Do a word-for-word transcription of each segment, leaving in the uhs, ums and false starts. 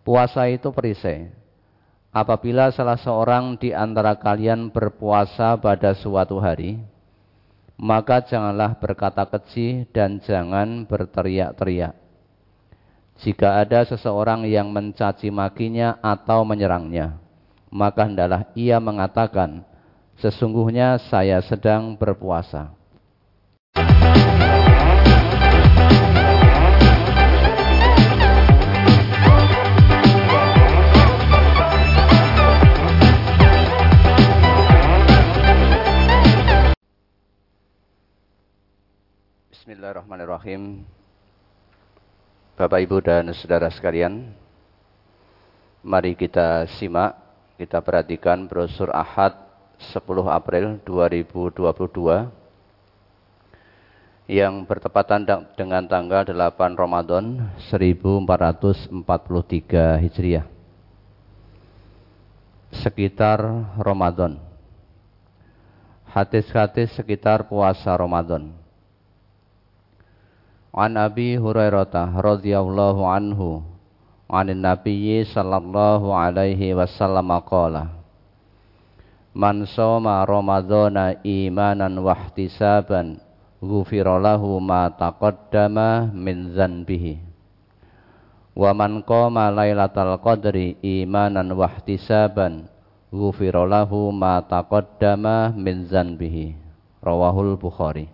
Puasa itu perisai. Apabila salah seorang di antara kalian berpuasa pada suatu hari, maka janganlah berkata keji dan jangan berteriak-teriak. Jika ada seseorang yang mencaci makinya atau menyerangnya, maka hendaklah ia mengatakan, sesungguhnya saya sedang berpuasa. Bismillahirrahmanirrahim. Bapak, Ibu, dan saudara sekalian, mari kita simak, kita perhatikan brosur Ahad sepuluh April dua ribu dua puluh dua yang bertepatan dengan tanggal delapan Ramadan seribu empat ratus empat puluh tiga Hijriah. Sekitar Ramadan. Hadis-hadis sekitar puasa Ramadan. An Abi Hurairah radhiyallahu anhu anin Nabiyyi sallallahu alaihi wasallam qala Man shoma Ramadhana imanan wa ihtisaban ghufira lahu ma taqaddama min dzanbihi wa man qama lailatal qadri imanan wa ihtisaban ghufira lahu ma taqaddama min dzanbihi. Rawahul Bukhari.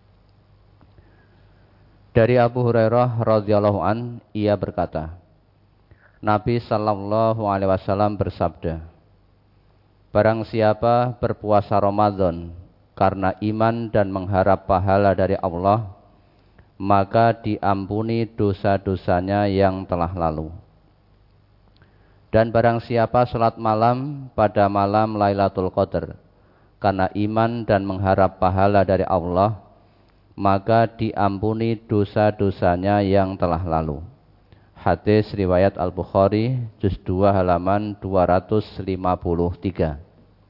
Dari Abu Hurairah radhiyallahu an, ia berkata, Nabi sallallahu alaihi wasallam bersabda, barang siapa berpuasa Ramadan karena iman dan mengharap pahala dari Allah, maka diampuni dosa-dosanya yang telah lalu. Dan barang siapa salat malam pada malam Lailatul Qadar karena iman dan mengharap pahala dari Allah, maka diampuni dosa-dosanya yang telah lalu. Hadis riwayat Al-Bukhari, juz dua halaman dua ratus lima puluh tiga.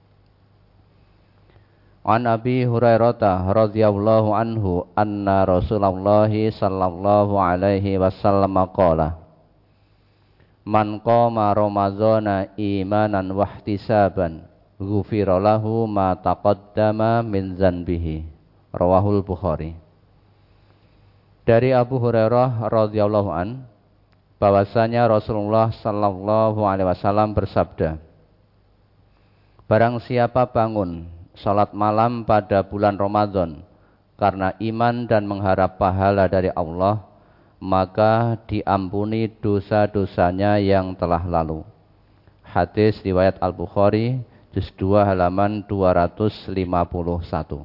An Abi Hurairah radhiyallahu anhu anna Rasulullah sallallahu alaihi wasallam qala Man qama Ramadhana imanan wa ihtisaban ghufira lahu ma taqaddama min dzanbihi. Rawahul Bukhari. Dari Abu Hurairah radhiyallahu an, bahwasanya Rasulullah sallallahu alaihi wasallam bersabda, barang siapa bangun salat malam pada bulan Ramadan karena iman dan mengharap pahala dari Allah, maka diampuni dosa-dosanya yang telah lalu. Hadis riwayat Al-Bukhari, juz dua halaman dua ratus lima puluh satu.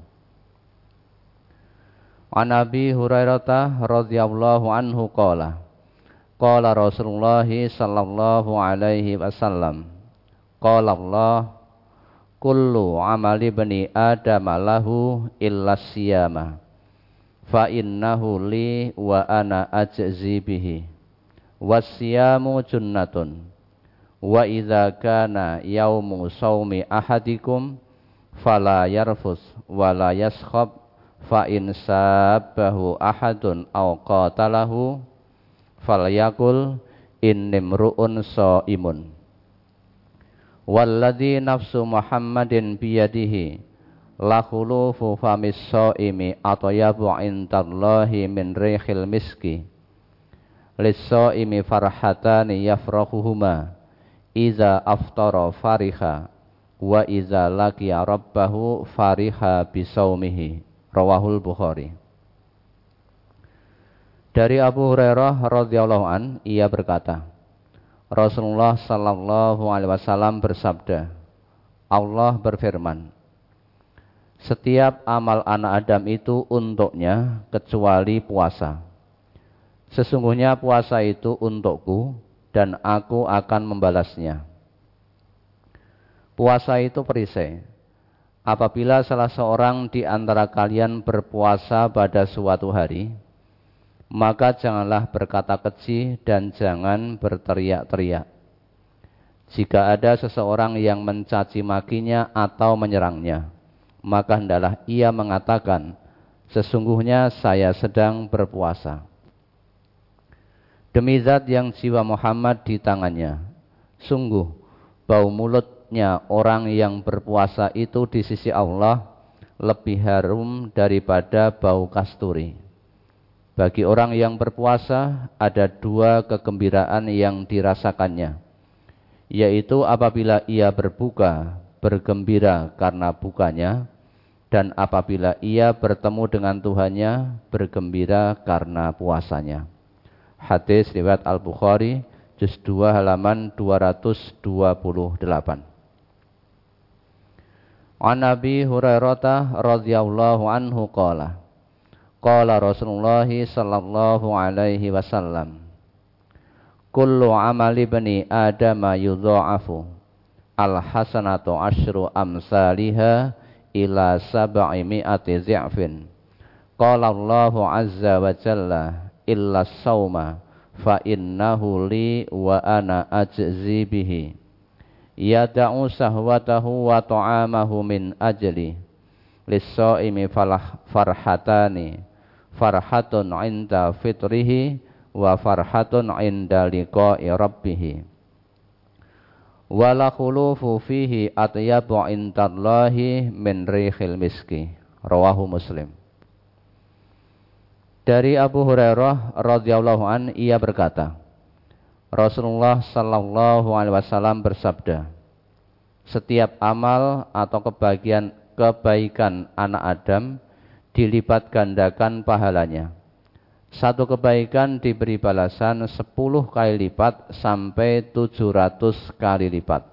An Abi Hurairah radhiyallahu anhu qala qala Rasulullah sallallahu alaihi wasallam qala Allah kullu amali bani adam lahu illa siyama fa innahu li wa ana ajzi bihi was-siyamu junnatun wa idza kana yaumu shaumi ahadikum fala yarfus wala yaskhab fa in sabbahu ahadun aw qatalahu falyakul innimru'un shaimun walladzi nafsu Muhammadin biyadihi la khulufu famis shaimi atyabu indallahi min rihil miski lis-shaimi farhatani yafrahuhuma iza aftara fariha wa iza laqiya rabbahu fariha bisaumihi. Rawahul Bukhari. Dari Abu Hurairah radhiyallahu an, ia berkata, Rasulullah sallallahu alaihi wasallam bersabda, Allah berfirman, setiap amal anak Adam itu untuknya kecuali puasa. Sesungguhnya puasa itu untukku dan aku akan membalasnya. Puasa itu perisai. Apabila salah seorang di antara kalian berpuasa pada suatu hari, maka janganlah berkata keji dan jangan berteriak-teriak. Jika ada seseorang yang mencaci makinya atau menyerangnya, maka hendaklah ia mengatakan, sesungguhnya saya sedang berpuasa. Demi zat yang jiwa Muhammad di tangannya, sungguh bau mulutnya orang yang berpuasa itu di sisi Allah lebih harum daripada bau kasturi. Bagi orang yang berpuasa ada dua kegembiraan yang dirasakannya, yaitu apabila ia berbuka, bergembira karena bukanya, dan apabila ia bertemu dengan Tuhannya, bergembira karena puasanya. Hadis riwayat Al-Bukhari, juz dua halaman dua ratus dua puluh delapan. An Abi Hurairah radhiyallahu anhu qala qala Rasulullah sallallahu alaihi wasallam, kullu amali bani adama yudha'afu al-hasanatu asyru amsalihha ila sab'i mi'ati zi'fin. Qala Allahu azza wa jalla illa sauma fa innahu li wa ana ajzi bihi yada'u sahwatahu wa ta'amahu min ajli lis-shaimi farhatani farhatun 'inda fitrihi wa farhatun 'inda liqa'i rabbih wala khulufu fihi atyabu 'indallahi min rihil miski. Rawahu Muslim. Dari Abu Hurairah radhiyallahu an, ia berkata, Rasulullah sallallahu alaihi wasallam bersabda, setiap amal atau kebagian kebaikan anak Adam dilipat gandakan pahalanya. Satu kebaikan diberi balasan sepuluh kali lipat sampai tujuh ratus kali lipat.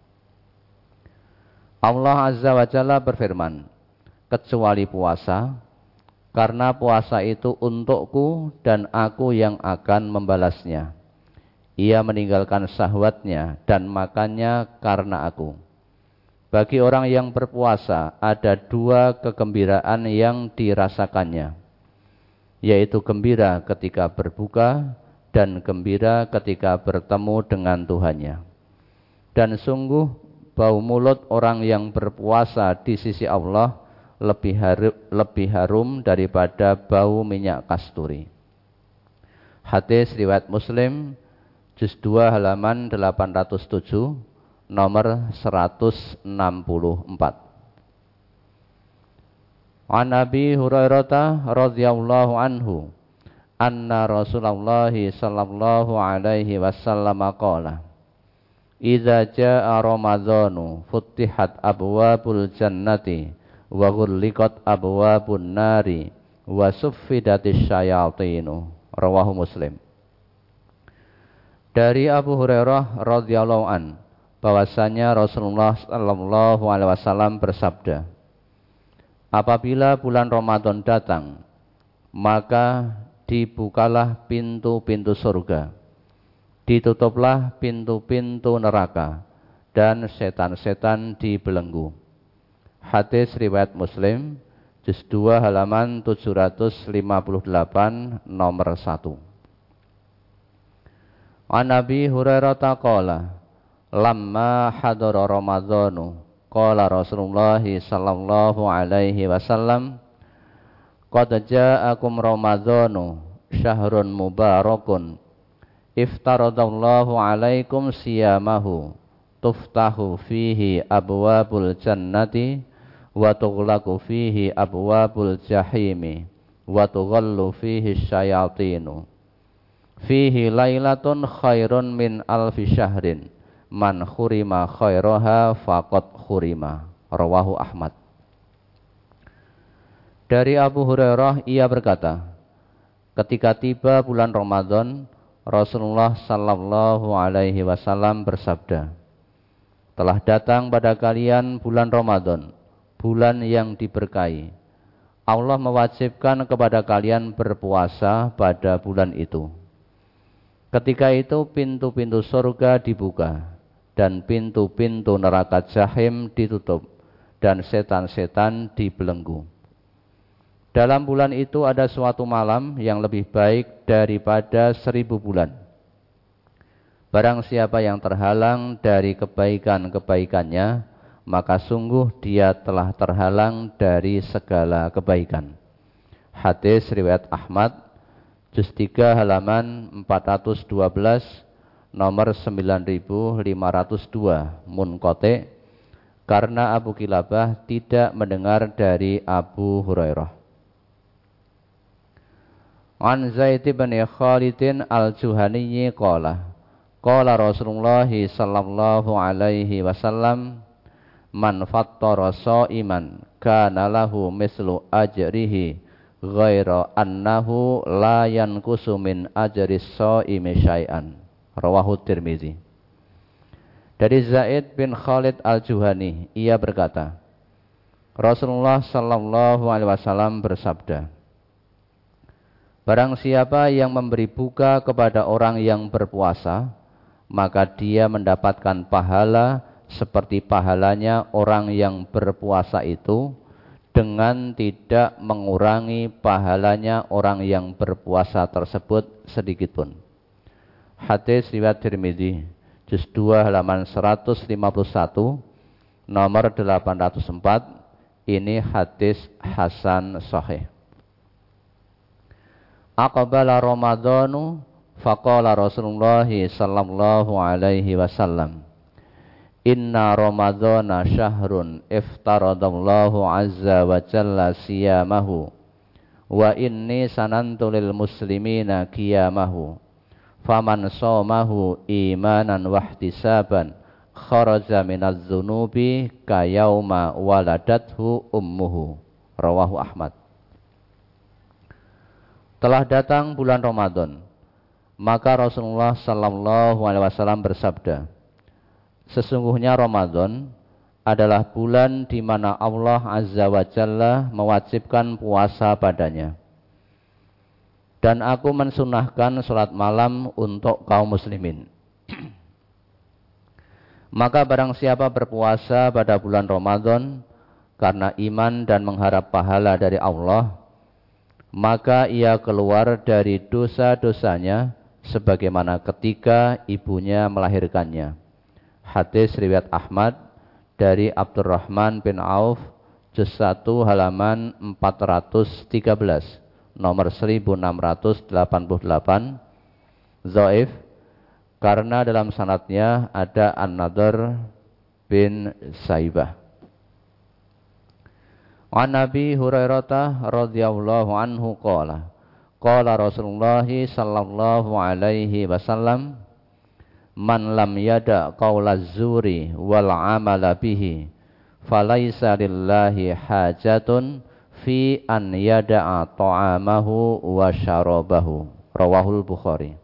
Allah Azza wa Jalla berfirman, kecuali puasa, karena puasa itu untukku dan aku yang akan membalasnya. Ia meninggalkan syahwatnya dan makannya karena aku. Bagi orang yang berpuasa ada dua kegembiraan yang dirasakannya, yaitu gembira ketika berbuka dan gembira ketika bertemu dengan Tuhannya. Dan sungguh bau mulut orang yang berpuasa di sisi Allah lebih harum, lebih harum daripada bau minyak kasturi. Hadis riwayat Muslim, juz dua halaman delapan ratus tujuh, nomor seratus enam puluh empat. An Abi Hurairah radhiyallahu anhu anna Rasulullah sallallahu alaihi wasallam qala idza jaa ramadhanu futtihat abwabul jannati wa ghulliqat abwabun nari wa suffidatis syayatinu. Rawahu Muslim. Dari Abu Hurairah radhiyallahu an, bahwasanya Rasulullah sallallahu alaihi wasallam bersabda, apabila bulan Ramadan datang, maka dibukalah pintu-pintu surga, ditutuplah pintu-pintu neraka, dan setan-setan dibelenggu. Hadis riwayat Muslim, juz dua halaman tujuh ratus lima puluh delapan, nomor satu. An Abi Hurairah qala lamma hadara Ramadhanu qala Rasulullah sallallahu alaihi wasallam qad ja'akum Ramadhanu syahrun mubarakun iftaradallahu alaikum siyamahu tuftahu fihi abwabul jannati wa tughlaqu fihi abwabul jahimi wa tughallu fihi syayatinu fihi lailatun khairun min alfi syahrin man khurima khairaha faqad khurima. Rawahu Ahmad. Dari Abu Hurairah ia berkata, ketika tiba bulan Ramadan, Rasulullah sallallahu alaihi wasallam bersabda, telah datang pada kalian bulan Ramadan, bulan yang diberkahi. Allah mewajibkan kepada kalian berpuasa pada bulan itu. Ketika itu pintu-pintu surga dibuka dan pintu-pintu neraka jahim ditutup dan setan-setan dibelenggu. Dalam bulan itu ada suatu malam yang lebih baik daripada seribu bulan. Barang siapa yang terhalang dari kebaikan-kebaikannya, maka sungguh dia telah terhalang dari segala kebaikan. Hadis riwayat Ahmad, juz tiga halaman empat ratus dua belas, nomor sembilan ribu lima ratus dua, munqati, karena Abu Kilabah tidak mendengar dari Abu Hurairah. An Zaid bin Khalid al-Juhani qala qala Rasulullah sallallahu alaihi wasallam man fattara sha'iman kana lahu mislu ajrihi ghaira annahu la yanqusu min ajri shaimi syai'an. Rawahu Tirmizi. Dari Zaid bin Khalid al-Juhani, ia berkata, Rasulullah sallallahu alaihi wasallam bersabda, barang siapa yang memberi buka kepada orang yang berpuasa, maka dia mendapatkan pahala seperti pahalanya orang yang berpuasa itu, dengan tidak mengurangi pahalanya orang yang berpuasa tersebut sedikitpun. Hadis riwayat Tirmizi, juz dua halaman seratus lima puluh satu, nomor delapan ratus empat. Ini hadis hasan sahih. Aqbala Ramadhanu faqala Rasulullah sallallahu alaihi wasallam, inna Ramadhana syahrun iftaradallahu azza wa jalla siyamahu wa inni sanantu lil muslimina qiyamahu faman shamahu imanan wahtisaban kharaja minaz dzunubi kayauma waladathu ummuhu. Rawahu Ahmad. Telah datang bulan Ramadan, maka Rasulullah sallallahu alaihi wasallam bersabda, sesungguhnya Ramadan adalah bulan di mana Allah Azza wa Jalla mewajibkan puasa padanya. Dan aku mensunahkan salat malam untuk kaum muslimin. Maka barang siapa berpuasa pada bulan Ramadan karena iman dan mengharap pahala dari Allah, maka ia keluar dari dosa-dosanya sebagaimana ketika ibunya melahirkannya. Hadis riwayat Ahmad dari Abdurrahman bin Auf, juz satu halaman empat ratus tiga belas, nomor seribu enam ratus delapan puluh delapan. Dhaif karena dalam sanadnya ada An-Nadhr bin Saibah. An Nabi Hurairah radhiyallahu anhu qala qala Rasulullah sallallahu alaihi wasallam, man lam yada qaulaz zuri wal amala bihi falaisa lillahi hajatun fi an yada'a ta'amahu wa syarabahu. Rawahul Bukhari.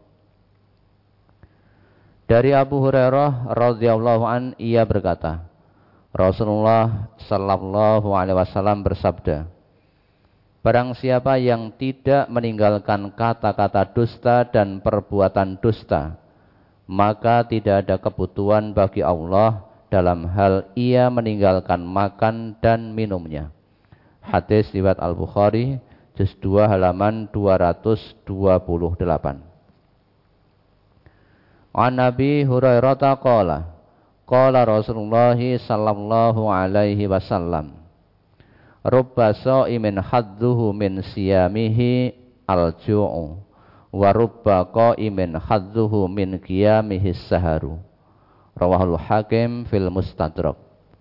Dari Abu Hurairah radhiyallahu an, ia berkata, Rasulullah sallallahu alaihi wasallam bersabda, barang siapa yang tidak meninggalkan kata-kata dusta dan perbuatan dusta, maka tidak ada kebutuhan bagi Allah dalam hal ia meninggalkan makan dan minumnya. Hadis riwayat Al-Bukhari, juz dua halaman dua ratus dua puluh delapan. An Nabi Hurairah qala qala Rasulullah sallallahu alaihi wasallam, rubba sha'imin hadduhu min siyamihi al-ju'u wa rubba qa'imin hadduhu min qiyamihi saharu. Rawahul Hakim fil Mustadrak.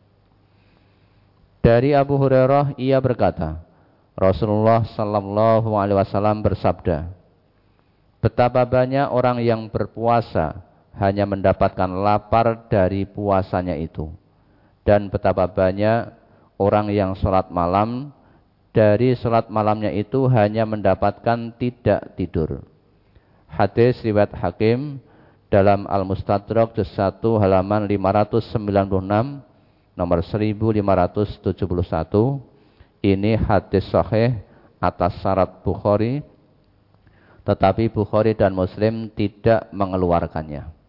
Dari Abu Hurairah, ia berkata, Rasulullah sallallahu alaihi wasallam bersabda, betapa banyak orang yang berpuasa hanya mendapatkan lapar dari puasanya itu, dan betapa banyak orang yang sholat malam, dari sholat malamnya itu hanya mendapatkan tidak tidur. Hadis riwayat Hakim dalam Al-Mustadrak juz satu halaman lima ratus sembilan puluh enam, nomor seribu lima ratus tujuh puluh satu. Ini hadis sahih atas syarat Bukhari, tetapi Bukhari dan Muslim tidak mengeluarkannya.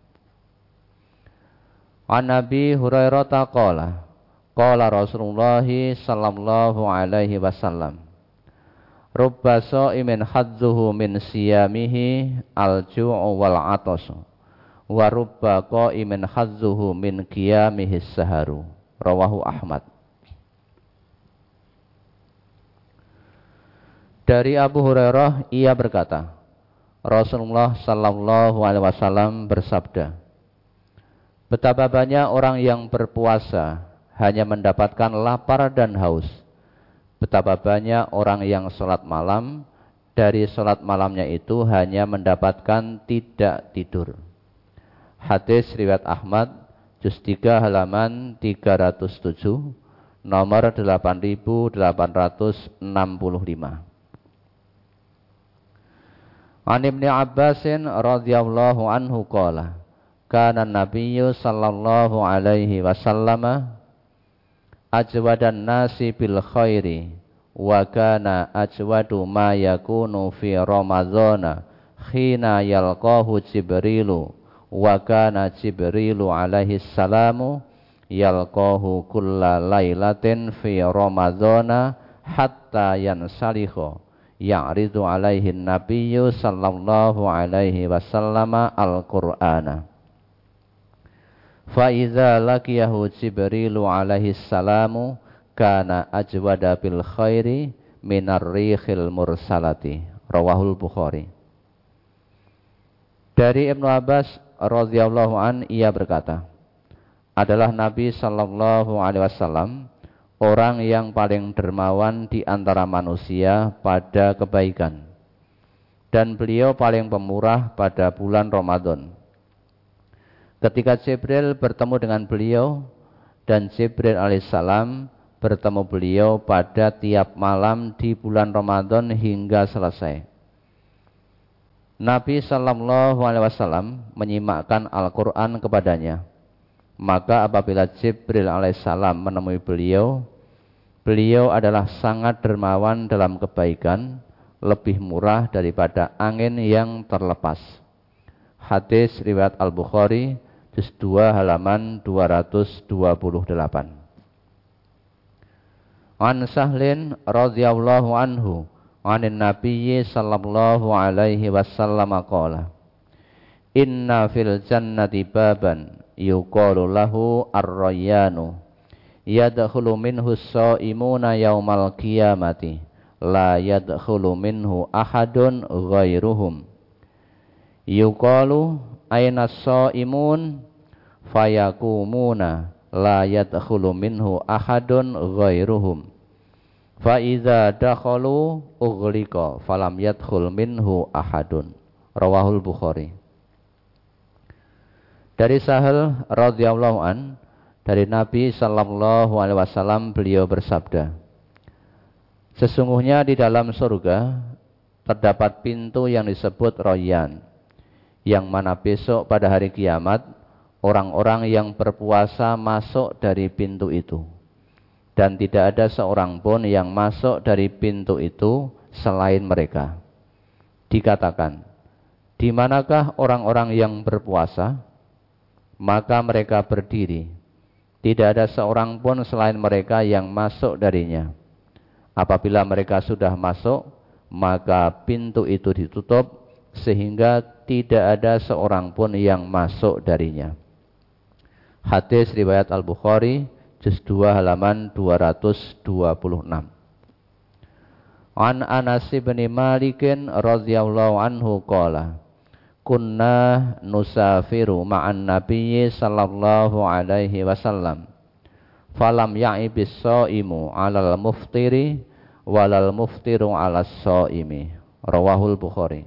An Nabi Hurairah qala qala Rasulullah sallallahu alaihi wasallam, rubba sha'imin hadzuhu min siyamihi al-ju'u wal 'atasu wa rubba qa'imin hadzuhu min qiyamihi saharu. Rawahu Ahmad. Dari Abu Hurairah, ia berkata, Rasulullah sallallahu alaihi wasallam bersabda, betapa banyak orang yang berpuasa hanya mendapatkan lapar dan haus. Betapa banyak orang yang sholat malam, dari sholat malamnya itu hanya mendapatkan tidak tidur. Hadis riwayat Ahmad, juz tiga halaman tiga ratus tujuh, nomor delapan ribu delapan ratus enam puluh lima. An Ibnu Abbasin radhiyallahu anhu qala, kana Nabiyyu sallallahu alaihi wasallam ajwadan nasi bil khairi wa kana ajwadu ma yakunu fi ramadhana khina yalqahu Jibrilu wa kana Jibrilu alaihi salamu yalqahu kulla lailatin fi ramadhana hatta yansalikha ya'ridu alaihi nabiyyu sallallahu alaihi wasallam al-Qur'ana. Fa idza laqiyahu Jibrilu alaihi salamu kana ajwada bil khairi minar rihil mursalati. Rawahul Bukhari. Dari Ibnu Abbas radhiyallahu an, ia berkata, adalah Nabi sallallahu alaihi wasallam orang yang paling dermawan di antara manusia pada kebaikan, dan beliau paling pemurah pada bulan Ramadan. Ketika Jibril bertemu dengan beliau, dan Jibril alaihissalam bertemu beliau pada tiap malam di bulan Ramadan hingga selesai. Nabi sallallahu alaihi wasallam menyimakkan Al-Quran kepadanya. Maka apabila Jibril alaihissalam menemui beliau, beliau adalah sangat dermawan dalam kebaikan, lebih murah daripada angin yang terlepas. Hadis riwayat Al-Bukhari, juz dua halaman dua ratus dua puluh delapan. An Sahlin radhiyallahu anhu, anin Nabiyyi sallallahu alaihi wasallam qala, inna fil jannati baban yuqalu lahu ar-rayyanu yadkhulu minhu as-shaimuna yaumal qiyamati la yadkhulu minhu ahadun ghairuhum yuqalu aina as-shaimun fayakumuna la yadkhulu minhu ahadun ghairuhum fa idza dakhalu ughliqa falam yadkhul minhu ahadun. Rawahul Bukhari. Dari Sahal radhiyallahu an, dari Nabi sallallahu alaihi wasallam beliau bersabda, sesungguhnya di dalam surga terdapat pintu yang disebut Rayyan, yang mana besok pada hari kiamat orang-orang yang berpuasa masuk dari pintu itu, dan tidak ada seorang pun yang masuk dari pintu itu selain mereka. Dikatakan, di manakah orang-orang yang berpuasa? Maka mereka berdiri. Tidak ada seorang pun selain mereka yang masuk darinya. Apabila mereka sudah masuk, maka pintu itu ditutup sehingga tidak ada seorang pun yang masuk darinya. Hadis riwayat Al-Bukhari, juz dua halaman dua ratus dua puluh enam. An Anas bin Malik radhiyallahu anhu qala, kunna nusafiru ma'an nabiyyi sallallahu alaihi wasallam falam ya'ibis shaimu 'alal muftiri walal muftiru 'alas shaimi. Rawahul Bukhari.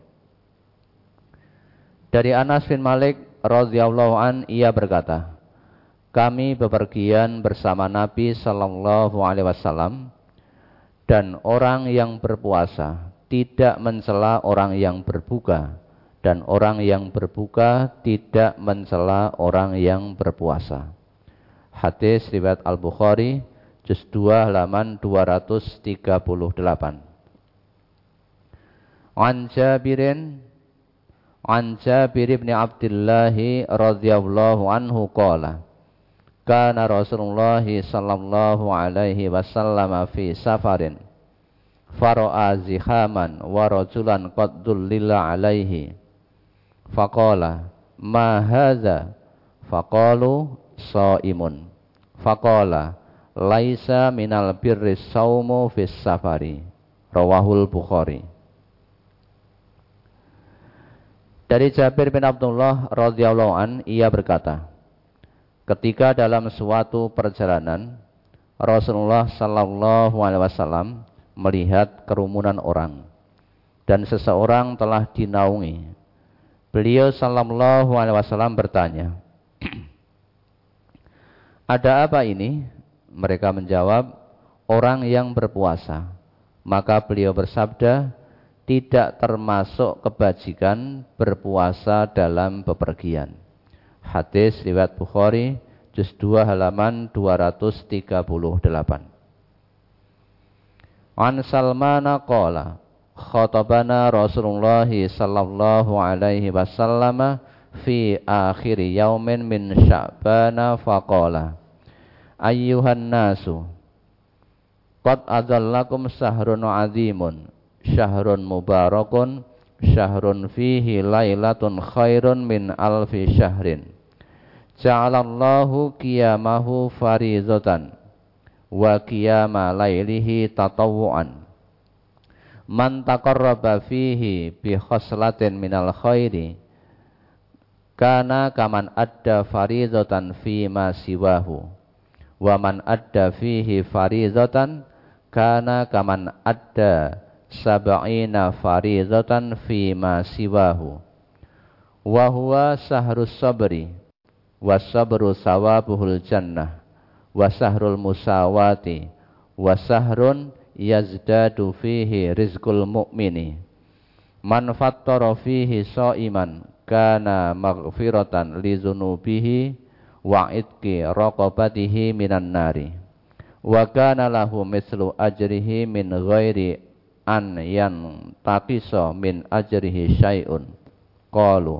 Dari Anas bin Malik radhiyallahu an, ia berkata, kami bepergian bersama Nabi sallallahu alaihi wasallam, dan orang yang berpuasa tidak mencela orang yang berbuka, dan orang yang berbuka tidak mencela orang yang berpuasa. Hadis riwayat Al-Bukhari, juz dua halaman dua ratus tiga puluh delapan. An Jabirin An Jabir bin Abdullah radhiyallahu anhu qala, kana Rasulullah sallallahu alaihi wasallam fi safarin fara'a zihaman wa rajulan qad dullila alaihi faqala ma hadza faqalu shaimun faqala laisa minal birri shaumu fis safari. Rawahul Bukhari. Dari Jabir bin Abdullah radhiyallahu an, ia berkata, ketika dalam suatu perjalanan Rasulullah sallallahu alaihi wasallam melihat kerumunan orang dan seseorang telah dinaungi. Beliau sallallahu alaihi wasallam bertanya, ada apa ini? Mereka menjawab, orang yang berpuasa. Maka beliau bersabda, tidak termasuk kebajikan berpuasa dalam bepergian. Hadis riwayat Bukhari, juz dua halaman dua ratus tiga puluh delapan. An Salmana qala, khatabana Rasulullah sallallahu alaihi wasallam fi akhir yaumin min Sya'bana faqala, ayyuhan nasu, qad adallakum syahrun azimun, syahrun mubarakun, syahrun fihi lailatun khairun min alfi syahrin. Ja'alallahu qiyamahu farizatan wa qiyama lailihi tatawwu'an. Man taqarraba fihi bi khaslatin minal khairi kana kaman adda farizatan fi ma siwahu. Wa man adda fihi farizatan kana kaman adda sab'ina farizatan fi ma siwahu. Wa huwa sahrus sabri wa sabru sawabuhul jannah wa sahrul musawati wa sahrun yazdadu fihi rizqul mu'mini. Man fattara fihi sha'iman kana maghfiratan li dzunubihi wa itqi raqabatihi minan nari wa kana lahu mislu ajrihi min ghairi an yan taqisa min ajrihi syai'un. Qalu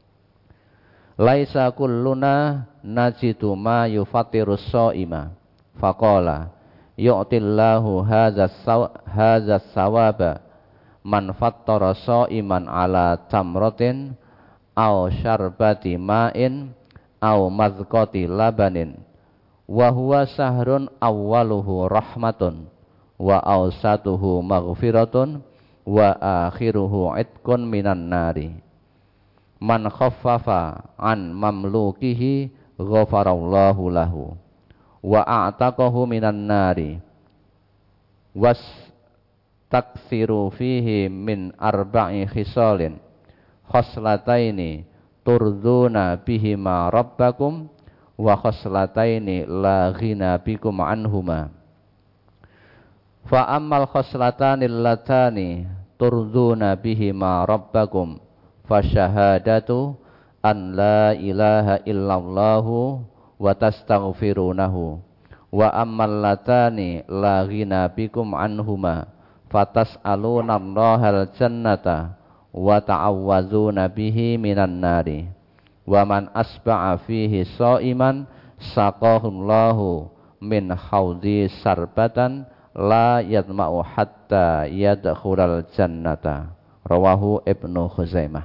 laisa kulluna najidu ma yufattirus shaima. Faqala yu'tillahu hadzas sawaba man fattara shaiman ala tamratin aw syarbati ma'in aw mazqati labanin wa huwa sahrun awwaluhu rahmatun wa awsatuhu maghfiratun wa akhiruhu itqun minan nari. Man khaffafa an mamlukihi ghafarallahu lahu wa a'taqahu minan nari was taksiru fihi min arba'i khisalin khoslataini turduna bihima rabbakum wa khoslataini la ghina bikum anhuma. Fa ammal khoslatani allatani turduna bihima rabbakum fa syahadatu an la ilaha illallahu wa tastaghfirunahu wa ammal latani la ghina bikum anhuma fatas'aluna Allahal jannata wa ta'awwazuna bihi minan nari wa man asba'a fihi sha'iman saqahullahu min haudhi sarbatan la yadma'u hatta yadkhulal jannata. Rawahu Ibnu Khuzaimah.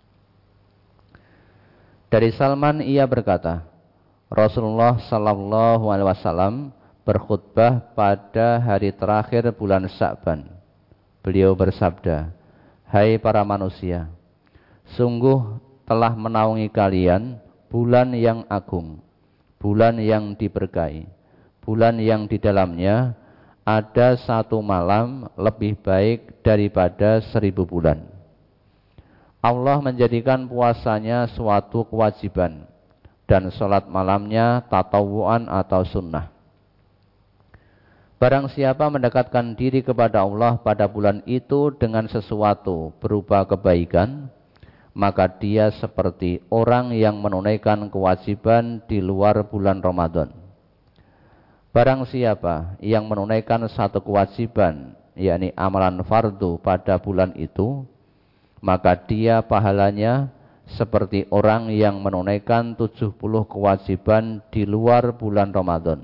Dari Salman ia berkata, Rasulullah sallallahu alaihi wasallam berkhutbah pada hari terakhir bulan Sya'ban. Beliau bersabda, hai para manusia, sungguh telah menaungi kalian bulan yang agung, bulan yang diberkahi, bulan yang di dalamnya ada satu malam lebih baik daripada seribu bulan. Allah menjadikan puasanya suatu kewajiban dan sholat malamnya tatawuan atau sunnah. Barang siapa mendekatkan diri kepada Allah pada bulan itu dengan sesuatu berupa kebaikan, maka dia seperti orang yang menunaikan kewajiban di luar bulan Ramadan. Barang siapa yang menunaikan satu kewajiban, yakni amalan fardu pada bulan itu, maka dia pahalanya seperti orang yang menunaikan tujuh puluh kewajiban di luar bulan Ramadan.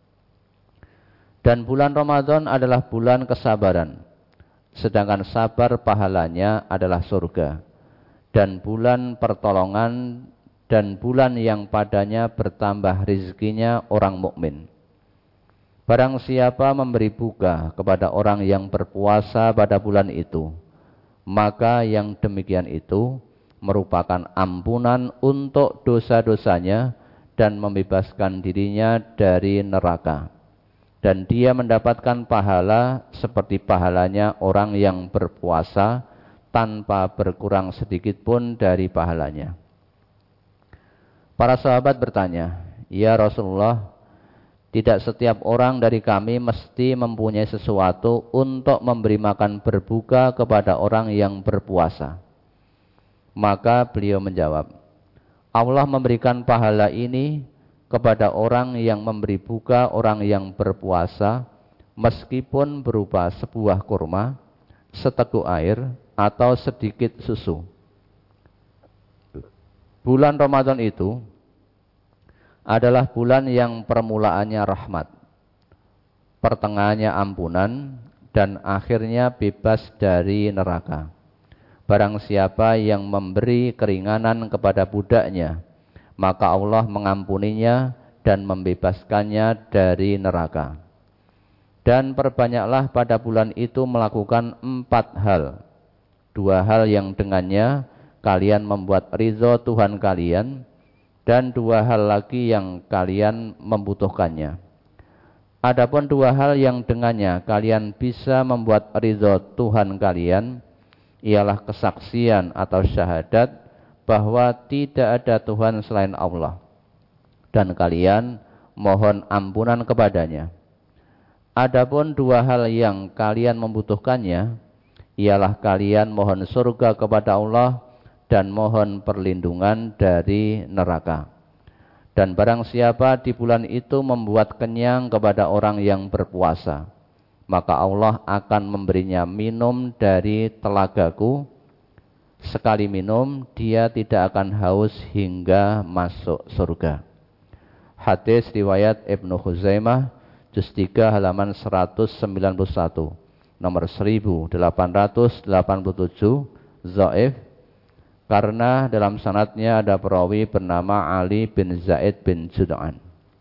Dan bulan Ramadan adalah bulan kesabaran, sedangkan sabar pahalanya adalah surga. Dan bulan pertolongan dan bulan yang padanya bertambah rizkinya orang mukmin. Barang siapa memberi buka kepada orang yang berpuasa pada bulan itu, maka yang demikian itu merupakan ampunan untuk dosa-dosanya dan membebaskan dirinya dari neraka. Dan dia mendapatkan pahala seperti pahalanya orang yang berpuasa tanpa berkurang sedikit pun dari pahalanya. Para sahabat bertanya, "Ya Rasulullah, tidak setiap orang dari kami mesti mempunyai sesuatu untuk memberi makan berbuka kepada orang yang berpuasa." Maka beliau menjawab, Allah memberikan pahala ini kepada orang yang memberi buka orang yang berpuasa, meskipun berupa sebuah kurma, seteguk air, atau sedikit susu. Bulan Ramadan itu adalah bulan yang permulaannya rahmat, pertengahannya ampunan, dan akhirnya bebas dari neraka. Barang siapa yang memberi keringanan kepada budaknya, maka Allah mengampuninya dan membebaskannya dari neraka. Dan perbanyaklah pada bulan itu melakukan empat hal. Dua hal yang dengannya kalian membuat ridho Tuhan kalian, dan dua hal lagi yang kalian membutuhkannya. Adapun dua hal yang dengannya kalian bisa membuat ridho Tuhan kalian, ialah kesaksian atau syahadat bahwa tidak ada Tuhan selain Allah, dan kalian mohon ampunan kepadanya. Adapun dua hal yang kalian membutuhkannya, ialah kalian mohon surga kepada Allah dan mohon perlindungan dari neraka. Dan barang siapa di bulan itu membuat kenyang kepada orang yang berpuasa, maka Allah akan memberinya minum dari telagaku. Sekali minum, dia tidak akan haus hingga masuk surga. Hadis riwayat Ibnu Khuzaimah, juz tiga halaman seratus sembilan puluh satu, nomor seribu delapan ratus delapan puluh tujuh, dhaif, karena dalam sanadnya ada perawi bernama Ali bin Zaid bin Jud'an.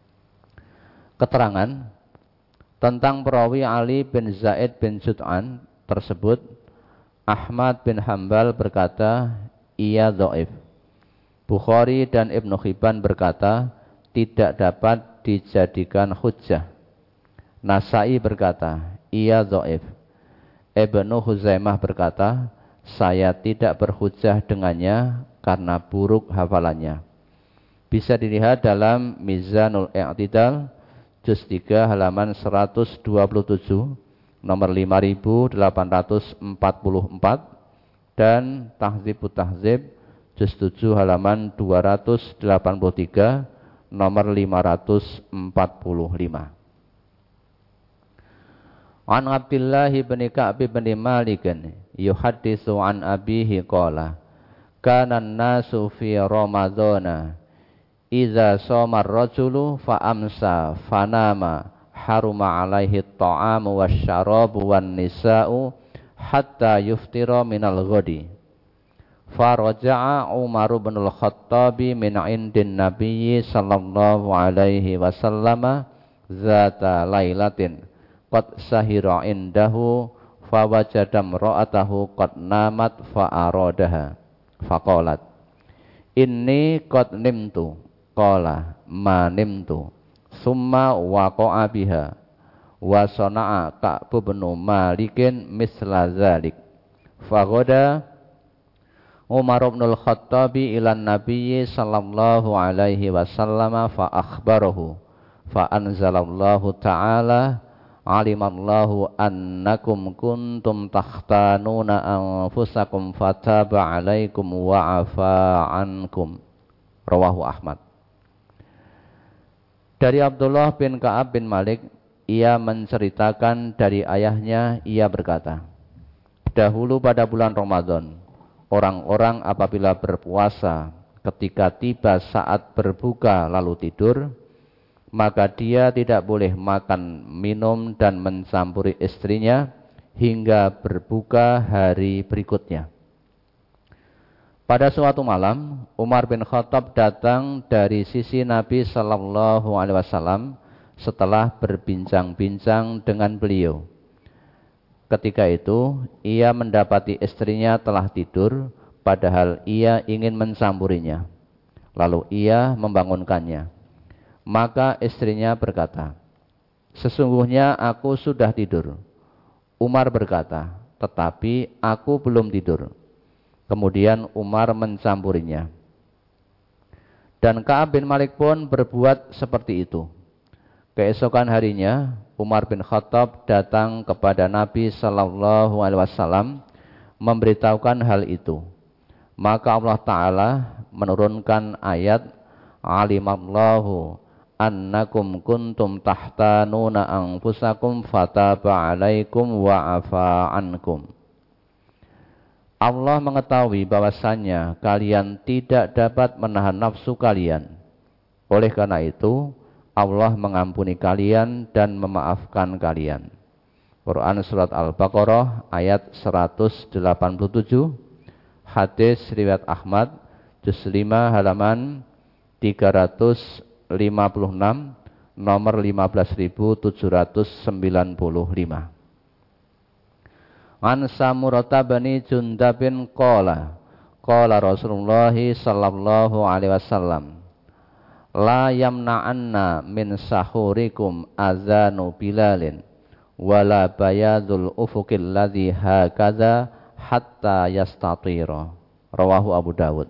Keterangan tentang perawi Ali bin Zaid bin Jud'an tersebut, Ahmad bin Hambal berkata, ia dhaif. Bukhari dan Ibnu Hibban berkata, tidak dapat dijadikan hujjah. Nasai berkata, ia dhaif. Ibnu Huzaimah berkata, saya tidak berhujjah dengannya karena buruk hafalannya. Bisa dilihat dalam Mizanul I'tidal, juz tiga halaman seratus dua puluh tujuh, nomor lima ribu delapan ratus empat puluh empat, dan Tahdzibut Tahdzib, juz tujuh halaman dua ratus delapan puluh tiga, nomor lima ratus empat puluh lima. An Abdullah bin Ka'b bin Malik yuhaddisu an abihi qala kana an-nasu fi ramadhana idza shoma ar-rajulu fa amsa fanama haruma alaihi at-ta'amu wasyarabu wan nisa'u hatta yuftira minal ghadi. Faraja'a Umar bin al-Khattabi min indin nabiyyi sallallahu alaihi wasallam zata lailatin qad sahira indahu fawajada imra'atahu qad namat fa'aradaha faqalat inni qad nimtu qala ma nimtu summa waqa'a biha wa sana'a Ka'b bin Malikin misla zalik faghada Umar bin al-Khattabi ilan nabiyyi sallallahu alaihi wasallam fa akhbarahu fa anzalallahu ta'ala alimallahu annakum kuntum takhtanuna anfusakum fataba alaikum wa afa ankum. Rawahu Ahmad. Dari Abdullah bin Ka'ab bin Malik, ia menceritakan dari ayahnya, ia berkata, dahulu pada bulan Ramadan, orang-orang apabila berpuasa, ketika tiba saat berbuka lalu tidur, maka dia tidak boleh makan, minum, dan mencampuri istrinya hingga berbuka hari berikutnya. Pada suatu malam, Umar bin Khattab datang dari sisi Nabi Sallallahu Alaihi Wasallam setelah berbincang-bincang dengan beliau. Ketika itu, ia mendapati istrinya telah tidur, padahal ia ingin mencampurinya. Lalu ia membangunkannya. Maka istrinya berkata, sesungguhnya aku sudah tidur. Umar berkata, tetapi aku belum tidur. Kemudian Umar mencampurinya. Dan Ka'ab bin Malik pun berbuat seperti itu. Keesokan harinya, Umar bin Khattab datang kepada Nabi Sallallahu Alaihi Wasallam memberitahukan hal itu. Maka Allah Ta'ala menurunkan ayat, alimallahu annakum kuntum tahtanuna anfusakum fataba alaikum wa afa ankum. Allah mengetahui bahwasannya kalian tidak dapat menahan nafsu kalian. Oleh karena itu, Allah mengampuni kalian dan memaafkan kalian. Quran Surat Al-Baqarah ayat seratus delapan puluh tujuh, hadis riwayat Ahmad, juz lima halaman tiga ratus lima puluh enam, nomor lima belas ribu tujuh ratus sembilan puluh lima. An Samurata bani Jundabin qala qala Rasulullah sallallahu alaihi wasallam, la yamna'anna min sahurikum azanu bilalin wala bayadul ufuqil ladzi hakadha hatta yastatira. Rawahu Abu Dawud.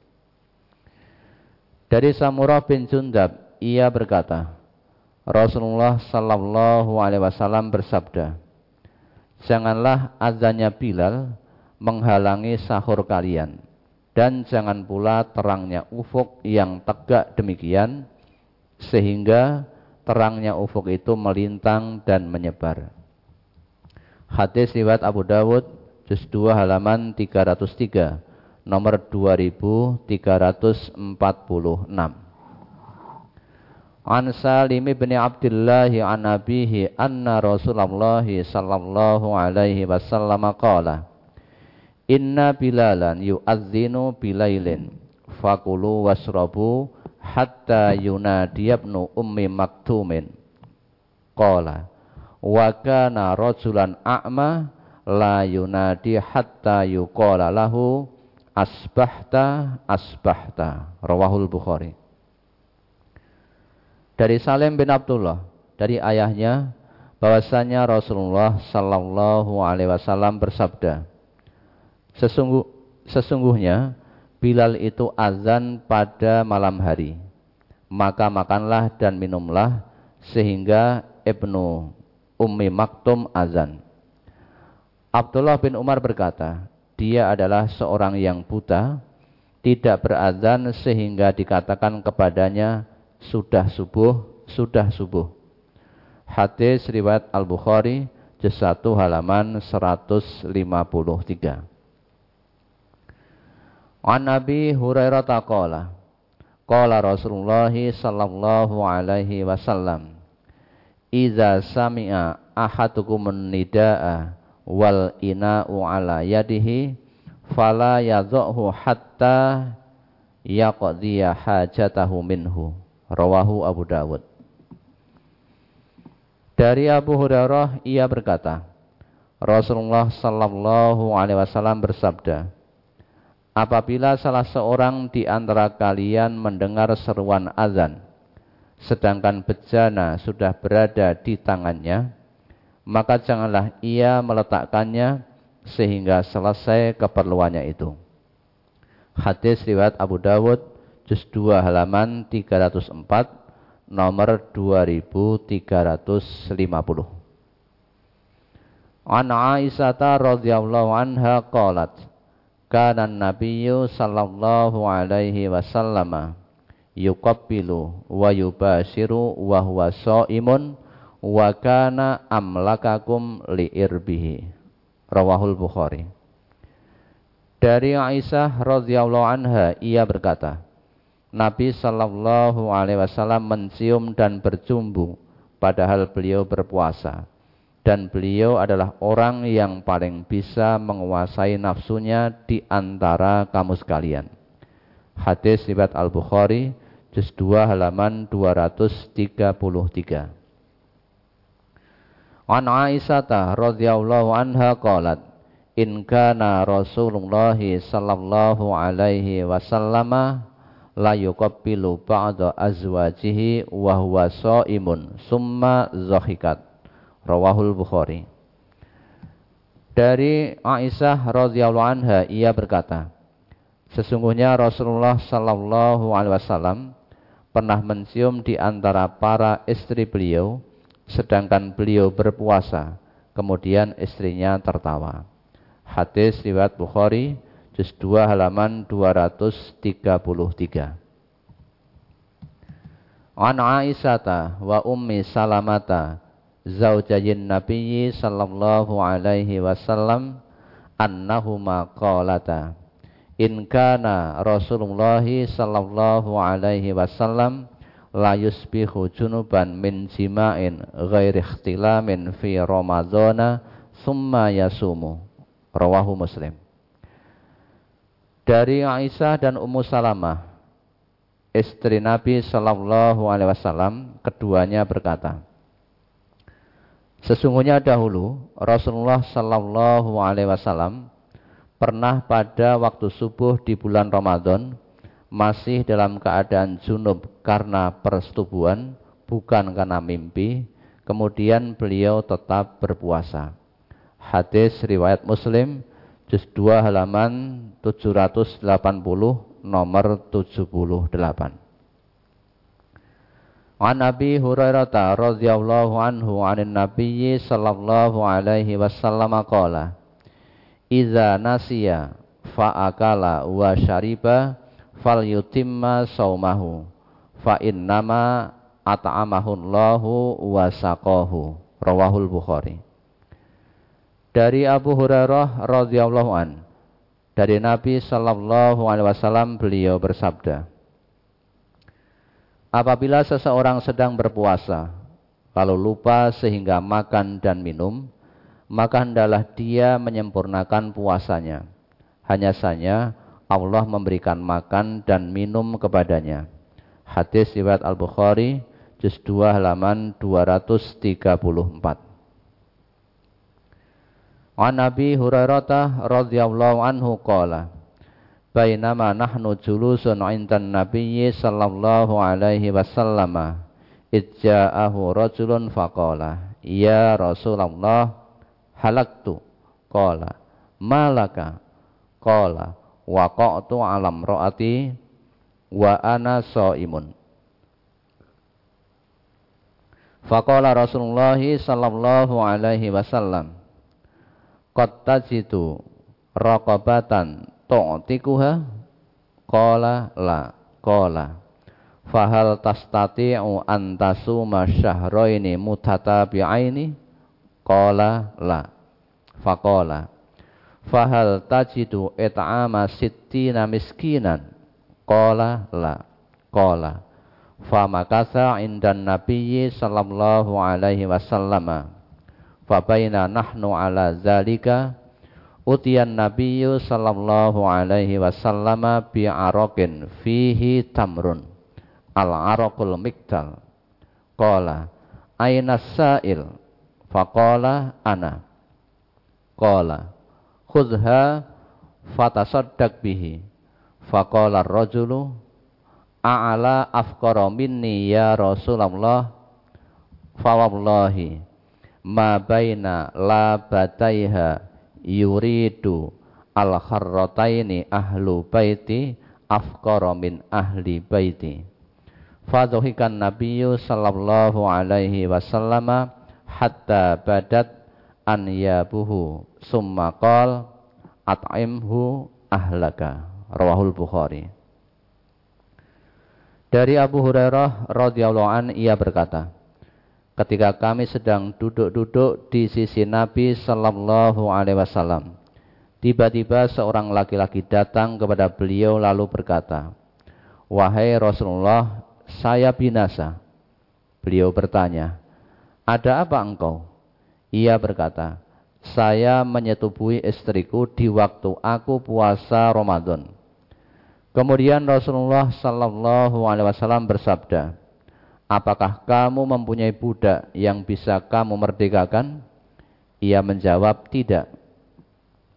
Dari Samurah bin Jundab, ia berkata, Rasulullah sallallahu alaihi wasallam bersabda, janganlah azannya Bilal menghalangi sahur kalian, dan jangan pula terangnya ufuk yang tegak demikian sehingga terangnya ufuk itu melintang dan menyebar. Hadis riwayat Abu Dawud, juz dua halaman tiga ratus tiga, nomor dua ribu tiga ratus empat puluh enam. An Salim bin Abdullah an abihi anna Rasulullah sallallahu alaihi wasallam qala, inna bilalan yu'adzinu bilailin fakulu wasrabu hatta yunadi ibnu ummi maktumin. Qala wa kana rajulan a'ma la yunadi hatta yuqala lahu asbahta asbahta. Rawahul Bukhari. Dari Salim bin Abdullah, dari ayahnya, bahwasanya Rasulullah sallallahu alaihi wasallam bersabda, Sesungguh, sesungguhnya Bilal itu azan pada malam hari, maka makanlah dan minumlah sehingga Ibnu Ummi Maktum azan. Abdullah bin Umar berkata, dia adalah seorang yang buta, tidak berazan sehingga dikatakan kepadanya sudah subuh, sudah subuh. Hadis riwayat Al-Bukhari, juz satu halaman seratus lima puluh tiga. An Nabi Hurairah taqala qala Rasulullah sallallahu alaihi wasallam, iza sami'a ahadukumun nidaa wal ina'u ala yadihi fala yadhuhu hatta yaqdiya hajatahu minhu. Rawahu Abu Dawud. Dari Abu Hurairah, ia berkata, Rasulullah sallallahu alaihi wasallam bersabda, apabila salah seorang di antara kalian mendengar seruan azan, sedangkan bejana sudah berada di tangannya, maka janganlah ia meletakkannya sehingga selesai keperluannya itu. Hadis riwayat Abu Dawud, juz dua halaman tiga ratus empat, nomor dua ribu tiga ratus lima puluh. An Aisyah radhiyallahu anha qalat, kana an-nabiyyu sallallahu alaihi wasallam yuqabbilu wa yubashiru wa huwa shaimun wa kana amlakakum liirbihi. Rawahul Bukhari. Dari Aisyah radhiyallahu anha, ia berkata, Nabi sallallahu alaihi wasallam mencium dan bercumbu padahal beliau berpuasa, dan beliau adalah orang yang paling bisa menguasai nafsunya di antara kamu sekalian. Hadis riwayat Al-Bukhari, juz dua halaman dua ratus tiga puluh tiga. An Aisyah radhiyallahu anha qalat, in kana Rasulullah sallallahu alaihi wasallam la yuqabbilu ba'da azwajihi wa huwa shaimun summa zahikat. Rawahul Bukhari. Dari Aisyah radhiyallahu anha, ia berkata, sesungguhnya Rasulullah sallallahu alaihi wasallam pernah mencium di antara para istri beliau sedangkan beliau berpuasa, kemudian istrinya tertawa. Hadis riwayat Bukhari, juz dua halaman dua ratus tiga puluh tiga. An Aisyata wa Ummi Salamata zaujayin Nabiyyi sallallahu alaihi wasallam annahuma qalata in kana Rasulullah sallallahu alaihi wasallam la yusbihu junuban min jima'in ghairi ikhtilamin fi ramadhana summa yasumu. Rawahu Muslim. Dari Aisyah dan Ummu Salamah, istri Nabi sallallahu alaihi wasallam, keduanya berkata, sesungguhnya dahulu Rasulullah sallallahu alaihi wasallam pernah pada waktu subuh di bulan Ramadan masih dalam keadaan junub karena persetubuhan, bukan karena mimpi, kemudian beliau tetap berpuasa. Hadis riwayat Muslim, juz dua halaman tujuh ratus delapan puluh, nomor tujuh puluh delapan. An Abi Hurairah radhiyallahu anhu 'anin Nabiyyi sallallahu alaihi wasallam qala idza nasiya fa akala wa syariba falyutimma saumahu fa innama at'amahu Allahu wa saqahu. Rawahul Bukhari. Dari Abu Hurairah radhiyallahu an, dari Nabi sallallahu alaihi wasallam, beliau bersabda, apabila seseorang sedang berpuasa lalu lupa sehingga makan dan minum, maka hendaklah dia menyempurnakan puasanya. Hanya saja Allah memberikan makan dan minum kepadanya. Hadis riwayat Al-Bukhari, juz dua halaman dua ratus tiga puluh empat. An Abi Hurairah radhiyallahu anhu qala bainama nahnu julusun 'indan Nabiyyi sallallahu alaihi wasallam idja'ahu rajulun faqala ya Rasulullah halaktu qala malaka qala waqa'tu 'ala imra'ati wa ana shaimun. Faqala Rasulullah sallallahu alaihi wasallam qad tajidu raqabatan tu'tikuha qala la qala fahal tastati'u an tasuma syahraini mutatabi'aini qala la faqala fahal tajidu it'ama sittina miskinan qala la qala famakatha indan nabiyyi sallallahu alaihi wasallam fabaina nahnu ala zalika utiyan nabiyyu sallallahu alaihi wasallam bi'araqin fihi tamrun al-araqul miktal qala aina sa'il faqala ana qala khudha fatasaddaq bihi faqala ar-rajulu a'ala afqara minni ya Rasulullah fa wallahi ma baina labataiha yuridu al-kharrataini ahlu baiti afqara min ahli baiti. Fadhuhikan nabiyyu sallallahu alaihi wasallam hatta badat an yabuhu summa qala at'imhu ahlaka. Rawahul Bukhari. Dari Abu Hurairah radhiyallahu an, ia berkata, ketika kami sedang duduk-duduk di sisi Nabi sallallahu alaihi wasallam, tiba-tiba seorang laki-laki datang kepada beliau lalu berkata, wahai Rasulullah, saya binasa. Beliau bertanya, ada apa engkau? Ia berkata, saya menyetubui istriku di waktu aku puasa Ramadan. Kemudian Rasulullah sallallahu alaihi wasallam bersabda, apakah kamu mempunyai budak yang bisa kamu merdekakan? Ia menjawab, tidak.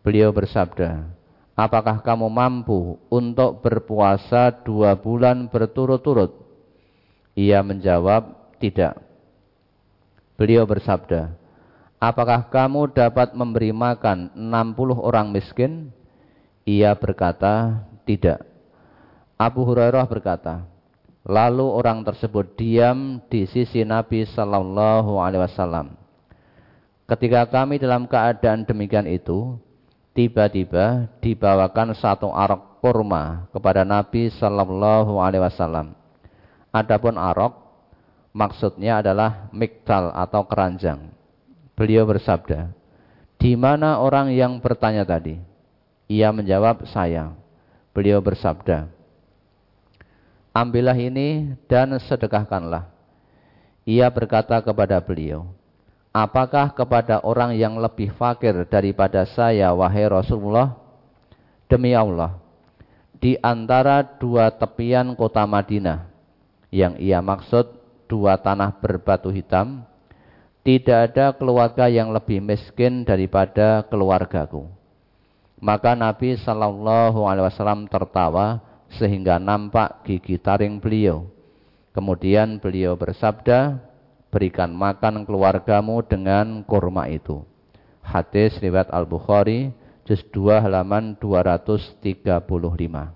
Beliau bersabda, apakah kamu mampu untuk berpuasa dua bulan berturut-turut? Ia menjawab, tidak. Beliau bersabda, apakah kamu dapat memberi makan enam puluh orang miskin? Ia berkata, tidak. Abu Hurairah berkata, lalu orang tersebut diam di sisi Nabi Sallallahu Alaihi Wasallam. Ketika kami dalam keadaan demikian itu, tiba-tiba dibawakan satu arak kurma kepada Nabi Sallallahu Alaihi Wasallam. Adapun arak maksudnya adalah miktal atau keranjang. Beliau bersabda, di mana orang yang bertanya tadi? Ia menjawab, saya. Beliau bersabda, ambillah ini dan sedekahkanlah. Ia berkata kepada beliau, apakah kepada orang yang lebih fakir daripada saya, wahai Rasulullah? Demi Allah, di antara dua tepian kota Madinah, yang ia maksud dua tanah berbatu hitam, tidak ada keluarga yang lebih miskin daripada keluargaku. Maka Nabi Sallallahu Alaihi Wasallam tertawa sehingga nampak gigi taring beliau. Kemudian beliau bersabda, berikan makan keluargamu dengan kurma itu. Hadis riwayat Al-Bukhari, juz dua halaman dua ratus tiga puluh lima.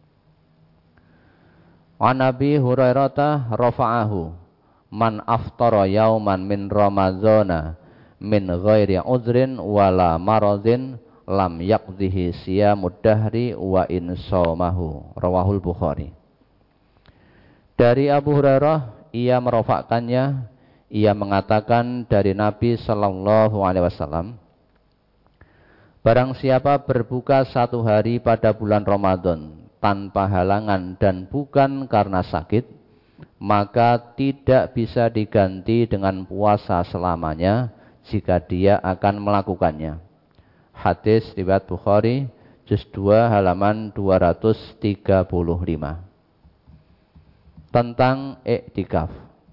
An Abi Hurairah rafa'ahu, man aftara yauman min Ramadhana min ghairi udhrin wala maradhin lam yaqdihi siyamud dahri wa in shawmahu. Rawahul Bukhari. Dari Abu Hurairah, ia merofakkannya, ia mengatakan dari Nabi Sallallahu Alaihi Wasallam, barang siapa berbuka satu hari pada bulan Ramadan tanpa halangan dan bukan karena sakit, maka tidak bisa diganti dengan puasa selamanya jika dia akan melakukannya. Hadis riwayat Bukhari, juz dua halaman dua ratus tiga puluh lima. Tentang iktikaf.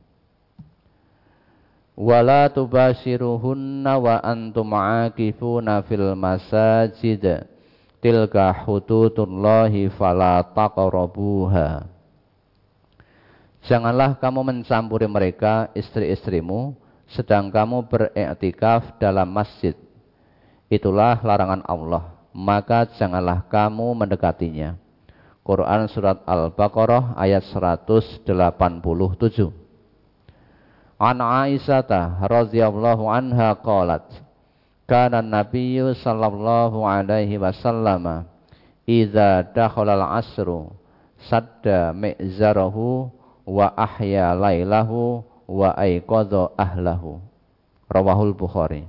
Wala tubashiruhunna wa antum aakifuna fil masajid tilka hududullahi fala taqrabuha. Janganlah kamu mencampuri mereka, istri-istrimu, sedang kamu beriktikaf dalam masjid. Itulah larangan Allah, maka janganlah kamu mendekatinya. Quran surat Al-Baqarah ayat seratus delapan puluh tujuh. An Aisyah radhiyallahu anha qalat, kana Nabiyyu sallallahu alaihi wasallam idza dakhala al-'asru sadda mi'zarahu wa ahya lailahu wa aiqadha ahlahu. Rawahul Bukhari.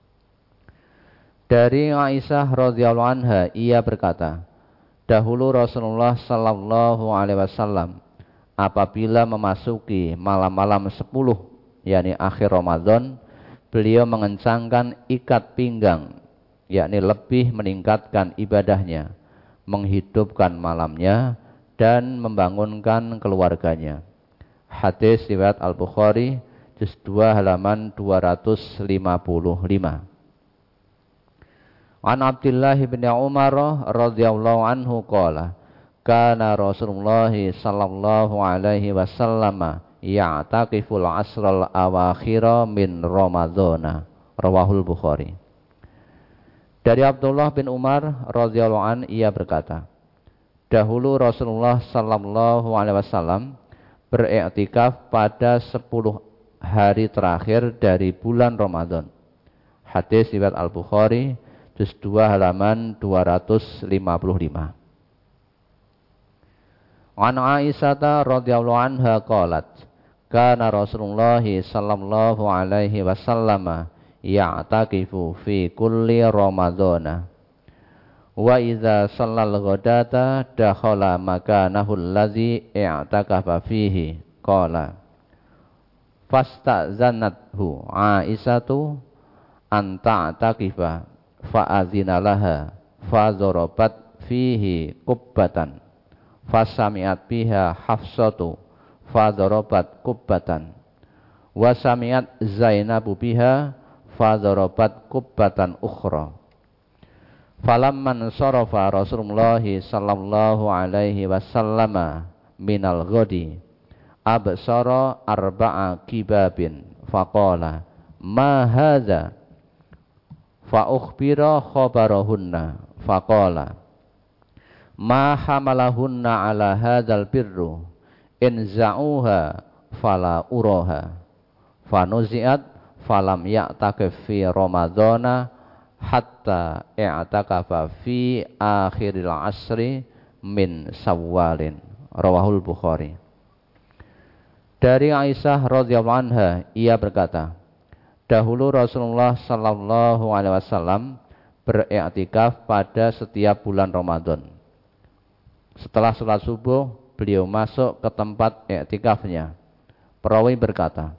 Dari Aisyah radhiyallahu anha, ia berkata, dahulu Rasulullah sallallahu alaihi wasallam apabila memasuki malam-malam sepuluh, yakni akhir Ramadan, beliau mengencangkan ikat pinggang, yakni lebih meningkatkan ibadahnya, menghidupkan malamnya dan membangunkan keluarganya. Hadis riwayat Al-Bukhari, juz dua halaman dua ratus lima puluh lima. An Abdullah bin Umar radhiyallahu anhu qala, kana Rasulullah sallallahu alaihi wasallam ya'taqiful asral awakhira min Ramadhana. Rawahul Bukhari. Dari Abdullah bin Umar radhiyallahu an, ia berkata, dahulu Rasulullah sallallahu alaihi wasallam beriktikaf pada sepuluh hari terakhir dari bulan Ramadan. Hadis riwayat Al-Bukhari, juz dua halaman dua ratus lima puluh lima. An Aisyah radhiyallahu anha qalat, kana Rasulullah sallallahu alaihi wasallam ya'taqifu fi kulli Ramadhana wa idza shallal ghadata dakhala makanahu allazi i'takafa fihi. Qala fasta'zanathu Aisyatu an ta'taqifa fa'azina laha fadharabat fihi kubbatan fasami'at biha Hafsatu fadharabat kubbatan wasami'at Zainabu biha fadharabat kubbatan ukhra. Falamman sarafa Rasulullah sallallahu alaihi wasallam minal ghadi absara arba'a kibabin faqala ma hadza fa ukhbira khabarahunna faqala ma hamalahunna ala hadzal birru in za'uha fala uraha fanuzi'at falam ya'takif fi ramadhana hatta i'takafa fi akhiril asri min Syawalin. Rawahul Bukhari. Dari Aisyah radhiyallahu anha, ia berkata, dahulu Rasulullah sallallahu alaihi wasallam beriktikaf pada setiap bulan Ramadan. Setelah sholat subuh, beliau masuk ke tempat iktikafnya. Perawi berkata,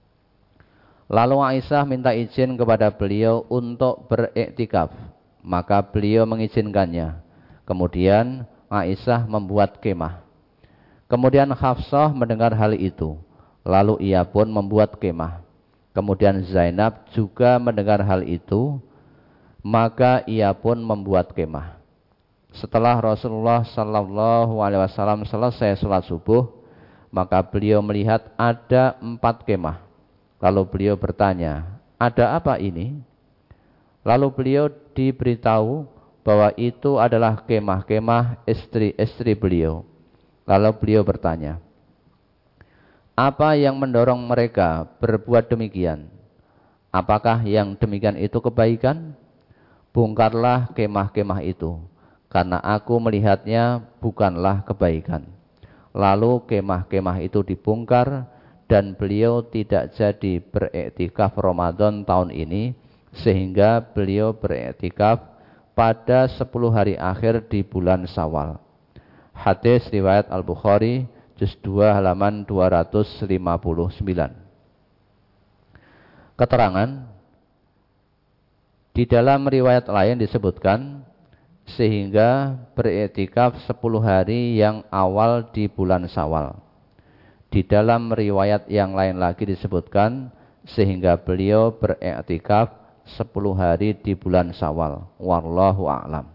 lalu Aisyah minta izin kepada beliau untuk beriktikaf, maka beliau mengizinkannya. Kemudian Aisyah membuat kemah. Kemudian Hafsah mendengar hal itu, lalu ia pun membuat kemah. Kemudian Zainab juga mendengar hal itu, maka ia pun membuat kemah. Setelah Rasulullah sallallahu alaihi wasallam selesai sholat subuh, maka beliau melihat ada empat kemah. Lalu beliau bertanya, ada apa ini? Lalu beliau diberitahu bahwa itu adalah kemah-kemah istri-istri beliau. Lalu beliau bertanya, apa yang mendorong mereka berbuat demikian? Apakah yang demikian itu kebaikan? Bongkarlah kemah-kemah itu, karena aku melihatnya bukanlah kebaikan. Lalu kemah-kemah itu dibongkar, dan beliau tidak jadi beriktikaf Ramadan tahun ini, sehingga beliau beriktikaf pada sepuluh hari akhir di bulan Syawal. Hadis riwayat Al-Bukhari, juz dua halaman dua ratus lima puluh sembilan. Keterangan, di dalam riwayat lain disebutkan, sehingga beriktikaf sepuluh hari yang awal di bulan Syawal. Di dalam riwayat yang lain lagi disebutkan, sehingga beliau beriktikaf sepuluh hari di bulan Syawal. Wallahu a'lam.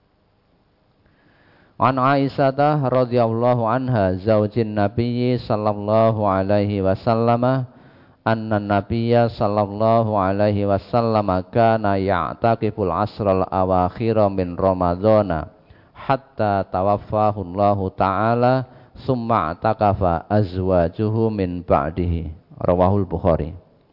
An Aisyah radhiyallahu anha zaujin Nabi sallallahu alaihi wasallam anna Nabiyya sallallahu alaihi wasallam kana ya'taqiful asral awakhir min Ramadhana hatta tawaffahu Allah taala summa atakafa azwajuhu min ba'dihi. Rawahul Bukhari.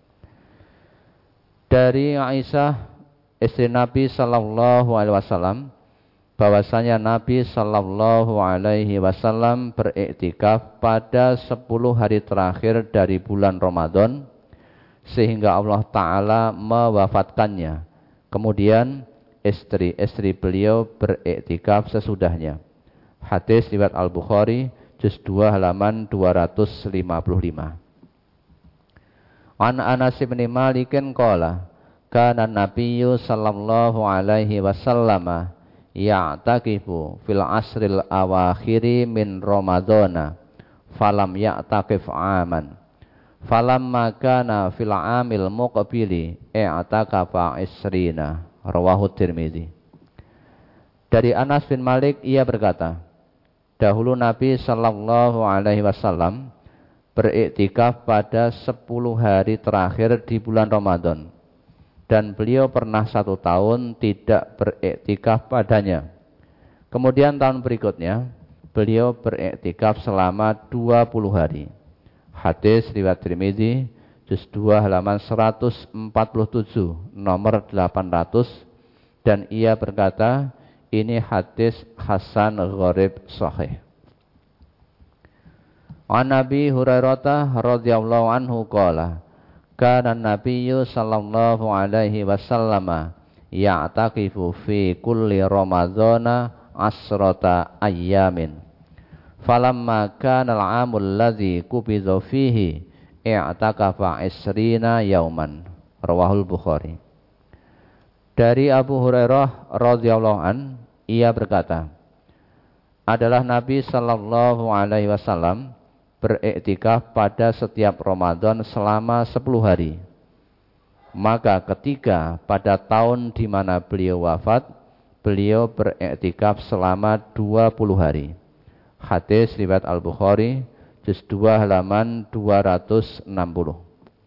Dari Aisyah istri Nabi sallallahu alaihi wasallam bahwasanya Nabi sallallahu alaihi wasallam beriktikaf pada sepuluh hari terakhir dari bulan Ramadan sehingga Allah taala mewafatkannya. Kemudian istri-istri beliau beriktikaf sesudahnya. Hadis riwayat Al-Bukhari, juz dua halaman dua ratus lima puluh lima. An Anas bin Malik qala kana Nabiyyu sallallahu alaihi wasallam ya'taqifu fil asril awakhiri min Ramadhana falam ya'taqif aman falamma kana fil amil muqbili i'taqafa isrina. Rawahu Tirmidzi. Dari Anas bin Malik ia berkata, dahulu Nabi sallallahu alaihi wasallam beriktikaf pada sepuluh hari terakhir di bulan Ramadan, dan beliau pernah satu tahun tidak beriktikaf padanya. Kemudian tahun berikutnya beliau beriktikaf selama dua puluh hari. Hadis riwayat Tirmidzi, juz dua halaman seratus empat puluh tujuh, nomor delapan ratus, dan ia berkata, ini hadis hasan gharib sahih. An Nabi Hurairah radhiyallahu anhu qala kana Nabiyyu sallallahu alaihi wasallam ya'taqifu fi kulli Ramadhana asrata ayyamin falamma kana al-'amul ladzi qubidha fihi i'taqafa isrina yauman. Rawahul Bukhari. Dari Abu Hurairah radhiyallahu an, ia berkata, adalah Nabi sallallahu alaihi wasallam beriktikaf pada setiap Ramadan selama sepuluh hari. Maka ketika pada tahun di mana beliau wafat, beliau beriktikaf selama dua puluh hari. Hadis riwayat Al-Bukhari juz dua halaman dua ratus enam puluh.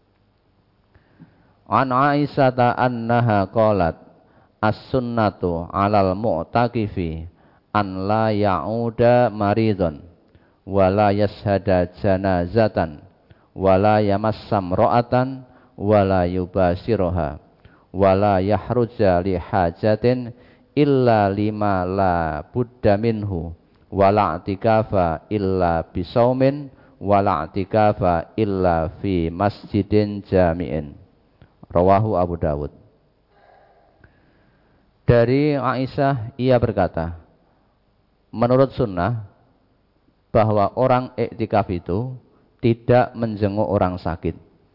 An Aisyah annaha qalat as-sunnatu 'alal mu'takifi an la ya'uda maridun wa la yashhada janazatan wa la yamassam ra'atan wa la yubashiruha wa la yahruja li hajatin illa lima la budda minhu wa la i'tikafa illa bisaumin wa la i'tikafa illa fi masjidin jami'in. Rawahu Abu Dawud. Dari Aisyah ia berkata, menurut sunnah bahwa orang iktikaf itu tidak menjenguk orang sakit,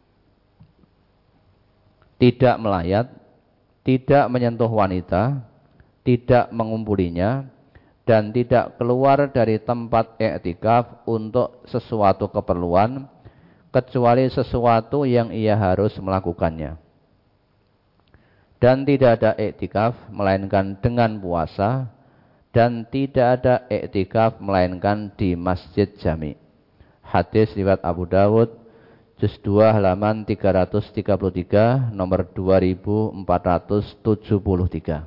tidak melayat, tidak menyentuh wanita, tidak mengumpulinya, dan tidak keluar dari tempat iktikaf untuk sesuatu keperluan kecuali sesuatu yang ia harus melakukannya. Dan tidak ada iktikaf melainkan dengan puasa, dan tidak ada iktikaf melainkan di masjid jami. Hadis riwayat Abu Dawud juz dua halaman tiga ratus tiga puluh tiga nomor dua ribu empat ratus tujuh puluh tiga.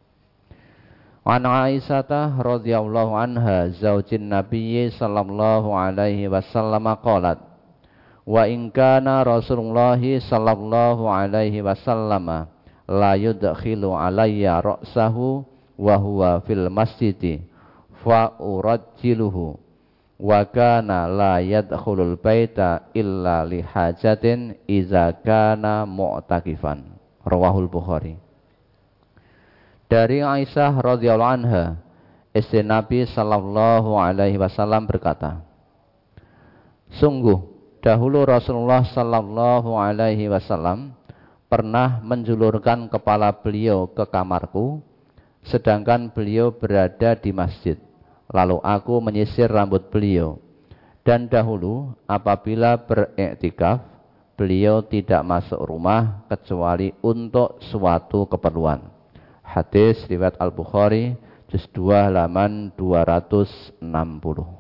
An Aisyah radhiyallahu anha zaujin Nabi sallallahu alaihi wasallam qalat wa in kana Rasulullah sallallahu alaihi wasallam la yudkhilu alayya ra'sahu wa huwa fil masjidi fa urajjiluhu wa kana la yadkhulul baita illa li hajatin idza kana mu'takifan. Rawahul Bukhari. Dari Aisyah radhiyallahu anha, istri Nabi sallallahu alaihi wasallam berkata, sungguh dahulu Rasulullah sallallahu alaihi wasallam pernah menjulurkan kepala beliau ke kamarku, sedangkan beliau berada di masjid. Lalu aku menyisir rambut beliau. Dan dahulu apabila beriktikaf, beliau tidak masuk rumah kecuali untuk suatu keperluan. Hadis riwayat Al-Bukhari juz dua halaman dua ratus enam puluh.